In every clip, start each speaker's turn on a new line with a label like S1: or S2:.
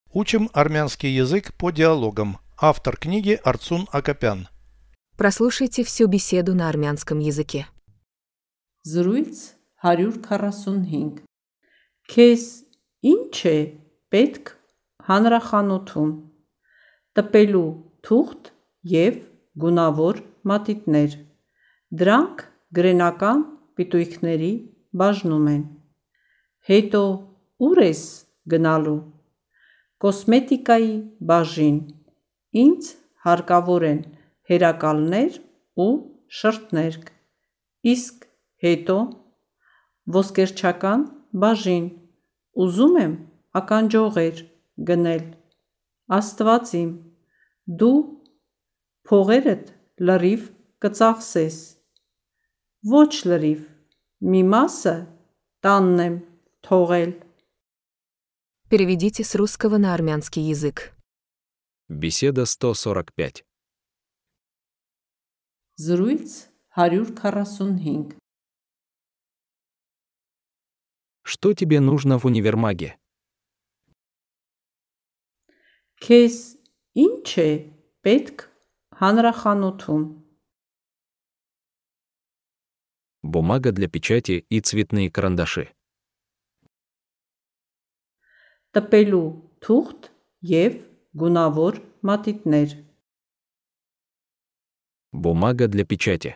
S1: Учим армянский язык по диалогам. Автор книги Арцун Акопян.
S2: Прослушайте всю беседу на армянском языке.
S3: Զրույց 145 Քեզ ինչ է պետք հանրախանութում տպելու թուղթ և գունավոր մատիտներ դրանք գրենական պիտույքների բաժնում են հետո ուր ես գնալու կոսմետիկայի բաժին ինձ հարկավոր են հերակալներ ու շրթներ իսկ հետո ոսկերչական բաժին ուզում եմ ականջողեր գնել Աստված իմ դու փողերդ լրիվ կծախսես ոչ լրիվ մի մասը տանն եմ թողել
S2: Переведите с русского на армянский язык.
S4: Беседа 145.
S3: Զրույց 145
S4: Что тебе нужно в универмаге?
S3: Քեզ ինչ է պետք հանրախանութում
S4: Бумага для печати и цветные карандаши.
S3: տպելու թուղթ և գունավոր մատիտներ
S4: Бумага для печати.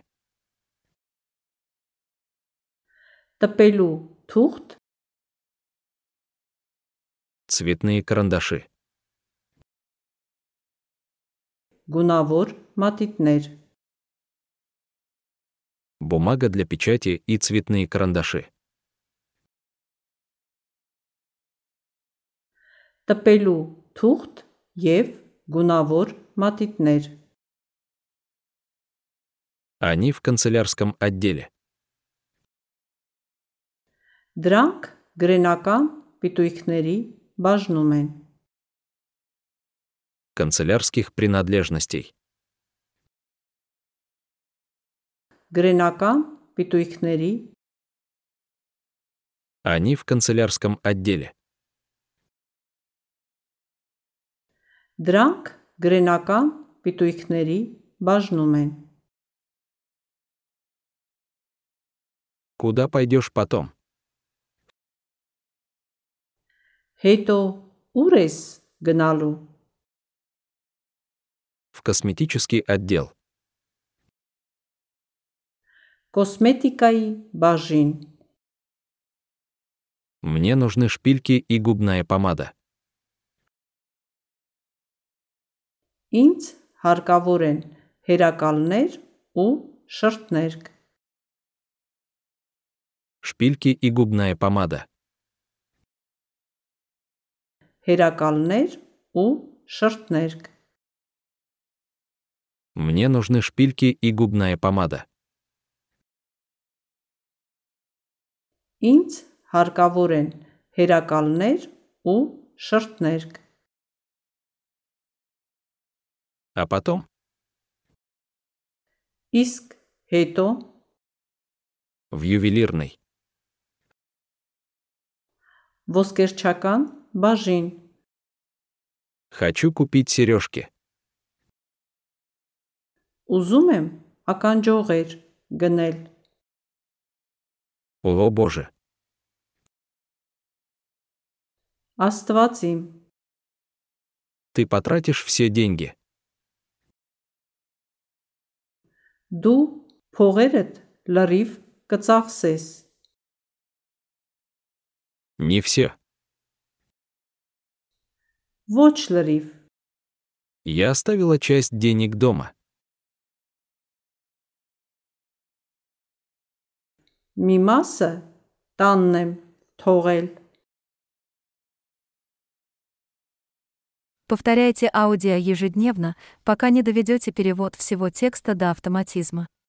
S3: տպելու թուղթ
S4: Цветные карандаши.
S3: գունավոր մատիտներ
S4: Бумага для печати и цветные карандаши.
S3: տպելու թուղթ և գունավոր մատիտներ
S4: Они в канцелярском отделе.
S3: դրանք գրենական պիտույքների բաժնում են
S4: Канцелярских принадлежностей.
S3: գրենական պիտույքների
S4: Они в канцелярском отделе.
S3: դրանք գրենական պիտույքների բաժնում են
S4: Куда пойдешь потом?
S3: հետո ուր ես գնալու
S4: В косметический отдел.
S3: կոսմետիկայի բաժին
S4: Мне нужны шпильки и губная помада.
S3: ինձ հարկավոր են հերակալներ ու շրթներ
S4: Шпильки и губная помада.
S3: հերակալներ ու շրթներ
S4: Мне нужны шпильки и губная помада.
S3: ինձ հարկավոր են հերակալներ ու շրթներ
S4: А потом
S3: իսկ հետո
S4: в ювелирной.
S3: ոսկերչական բաժին
S4: Хочу купить сережки.
S3: ուզում եմ ականջողեր գնել
S4: О боже.
S3: Աստված իմ
S4: Ты потратишь все деньги.
S3: դու փողերդ լրիվ կծախսես
S4: Не все.
S3: ոչ լրիվ
S4: Я оставила часть денег дома.
S3: մի մասը տանն եմ թողել
S5: Повторяйте аудио ежедневно, пока не доведете перевод всего текста до автоматизма.